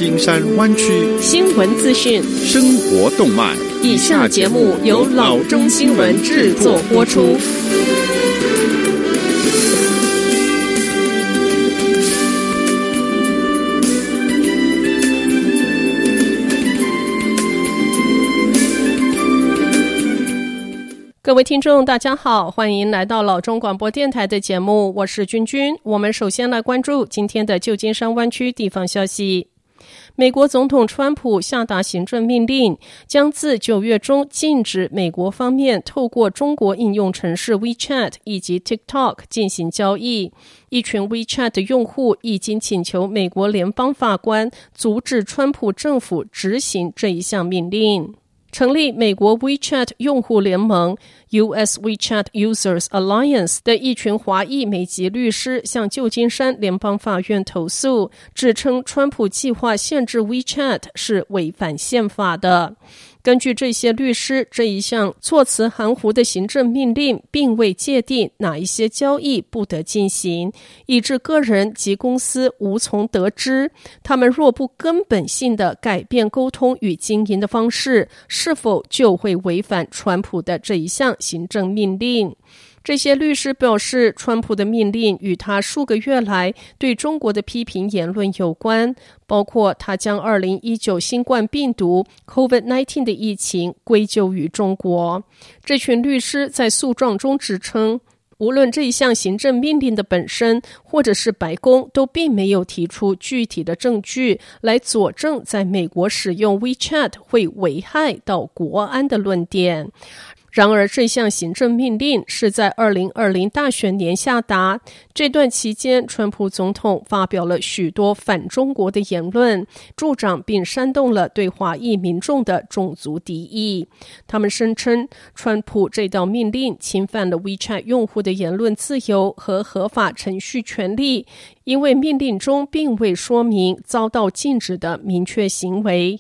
金山灣區新聞資訊、 生活動脈。 以下節目由老中新聞製作播出。各位聽眾大家好，歡迎來到老中廣播電臺的節目，我是君君。我們首先來關注今天的舊金山灣區地方消息。美國總統川普下達行政命令，將自9月中禁止美國方面透過中國應用程式 WeChat 以及 TikTok 進行交易。一群 WeChat 的用戶已經請求美國聯邦法官阻止川普政府執行這一項命令。成立美國 WeChat 用戶聯盟 US WeChat Users Alliance 的一群華裔美籍律師向舊金山聯邦法院投訴，指稱川普計劃限制 WeChat 是違反憲法的。根據這些律師，這一項措辭含糊的行政命令並未界定哪一些交易不得進行，以致個人及公司無從得知，他們若不根本性地改變溝通與經營的方式，是否就會違反川普的這一項行政命令。這些律師表示，川普的命令與他數個月來對中國的批評言論有關，包括他將2019新冠病毒 COVID-19 的疫情歸咎於中國。這群律師在訴狀中指稱，無論這一項行政命令的本身，或者是白宮，都並沒有提出具體的證據來佐證在美國使用 WeChat 會危害到國安的論點。然而，這項行政命令是在2020大選年下達。這段期間，川普總統發表了許多反中國的言論，助長並煽動了對華裔民眾的種族敵意。他們聲稱，川普這道命令侵犯了 WeChat 用戶的言論自由和合法程序權利，因為命令中並未說明遭到禁止的明確行為。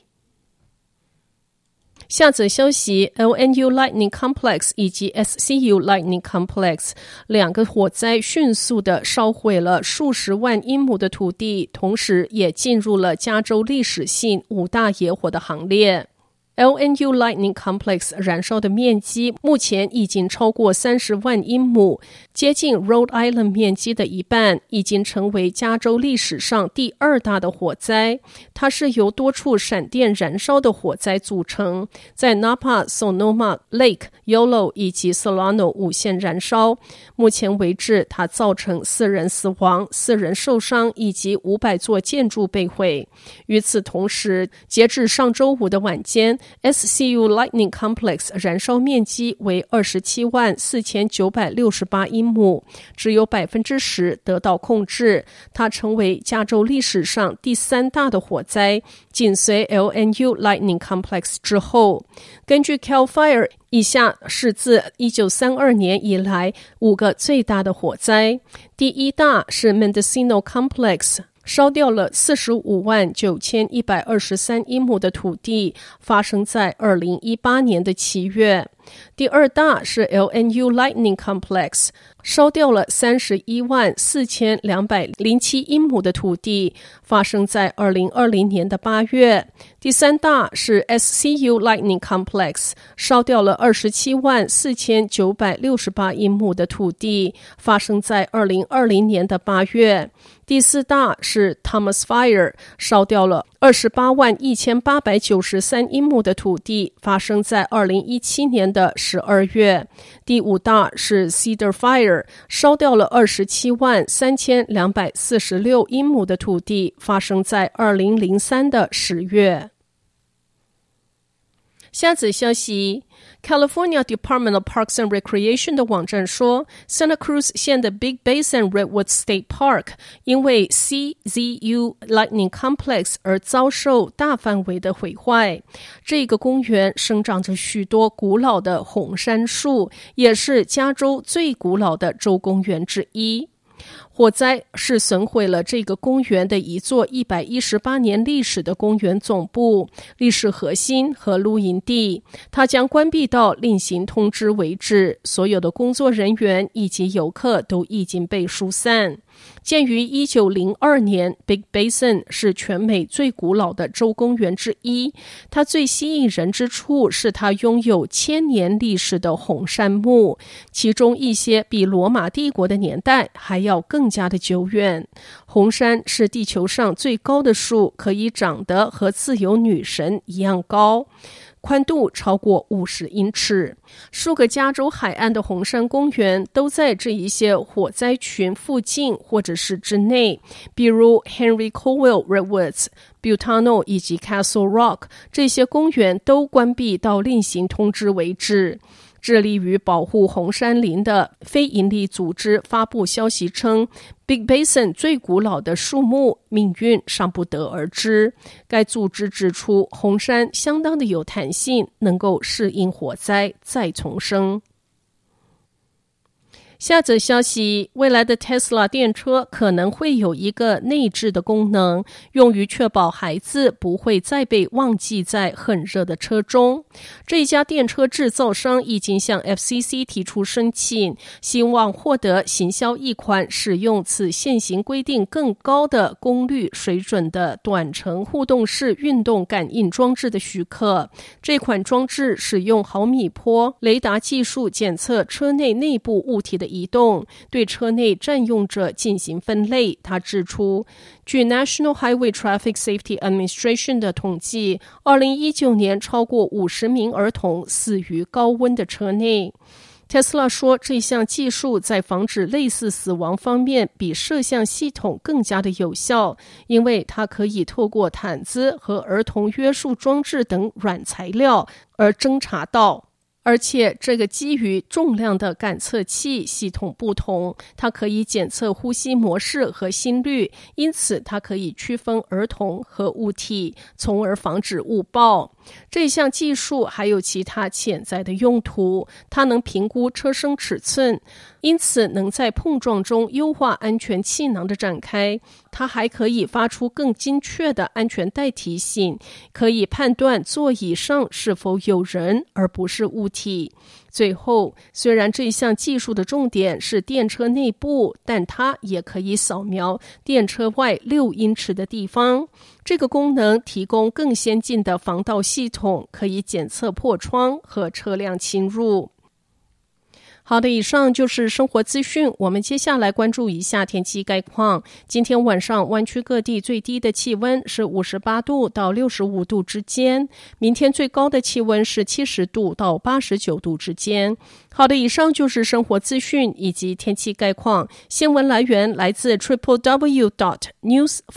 下則消息 LNU Lightning Complex 以及 SCU Lightning Complex 兩個火災迅速地燒毀了數十萬英畝的土地，同時也進入了加州歷史性5大野火的行列。LNU Lightning Complex 燃燒的面積目前已經超過30萬英畝，接近 Rhode Island 面積的一半，已經成為加州歷史上第2大的火災。它是由多處閃電燃燒的火災組成，在 Napa、Sonoma、Lake、Yolo 以及 Solano 5縣燃燒。目前為止，它造成4人死亡、4人受傷，以及500座建築被毀。與此同時，截至上周五的晚間，SCU Lightning Complex 燃燒面積為274968英畝，只有 10% 得到控制。它成為加州歷史上第3大的火災，緊隨 LNU Lightning Complex 之後。根據 CAL FIRE， 以下是自1932年以來5個最大的火災。第1大是 Mendocino Complex，燒掉了459123英畝的土地，發生在2018年的7月。第2大是 LNU Lightning Complex， 燒掉了314207英畝的土地，發生在2020年的8月。第3大是 SCU Lightning Complex， 燒掉了274968英畝的土地，發生在2020年的8月。第4大是 Thomas Fire， 燒掉了281893英畝的土地，發生在2017年的12月。第5大是 Cedar Fire， 燒掉了273246英畝的土地，發生在2003的10月。下則消息 California Department of Parks and Recreation 的網站說 Santa Cruz 縣的 Big Basin Redwood State Park 因為 CZU Lightning Complex 而遭受大範圍的毀壞。這個公園生長着許多古老的紅杉樹，也是加州最古老的州公園之一。 火災是損毀了這個公園的一座118年歷史的公園總部、歷史核心和露營地。它將關閉到另行通知為止，所有的工作人員以及遊客都已經被疏散。建於1902年 ，Big Basin 是全美最古老的州公園之一。它最吸引人之處是它擁有1000年歷史的紅杉木，其中一些比羅馬帝國的年代還要更加的久遠。紅杉是地球上最高的樹，可以長得和自由女神一樣高。寬度超過50英尺，數個加州海岸的紅杉公園都在這一些火災群附近或者是之內，比如 Henry Cowell Redwoods、Butano 以及 Castle Rock， 這些公園都關閉到另行通知為止。致力於保護紅杉林的非營利組織發布消息稱， Big Basin 最古老的樹木命運尚不得而知。該組織指出，紅杉相當的有彈性，能夠適應火災再重生。下則消息，未來的 Tesla 電車可能會有一個內置的功能，用於確保孩子不會再被忘記在很熱的車中。這一家電車製造商已經向 FCC 提出申請，希望獲得行銷一款使用此現行規定更高的功率水準的短程互動式運動感應裝置的許可。這款裝置使用毫米波雷達技術檢測車內內部物體的移動，對車內佔用者進行分類。他指出，據 National Highway Traffic Safety Administration 的統計，2019年超過50名兒童死於高溫的車內。Tesla 說，這項技術在防止類似死亡方面比攝像系統更加的有效，因為它可以透過毯子和兒童約束裝置等軟材料而偵查到。而且這個基於重量的感測器系統不同，它可以檢測呼吸模式和心率，因此它可以區分兒童和物體，從而防止誤報。這項技術還有其他潛在的用途，它能評估車身尺寸，因此能在碰撞中優化安全氣囊的展開。它還可以發出更精確的安全帶提醒，可以判斷座椅上是否有人而不是物體。最後，雖然這項技術的重點是電車內部，但它也可以掃描電車外6英尺的地方。這個功能提供更先進的防盜系統，可以檢測破窗和車輛侵入。好的，以上就是生活資訊。我們接下來關注一下天氣概況。今天晚上灣區各地最低的氣溫是58度到65度之間，明天最高的氣溫是70度到89度之間。好的，以上就是生活資訊以及天氣概況。新聞來源來自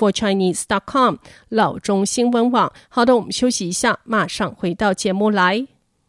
www.newsforchinese.com 老中新聞網。好的，我們休息一下，馬上回到節目來。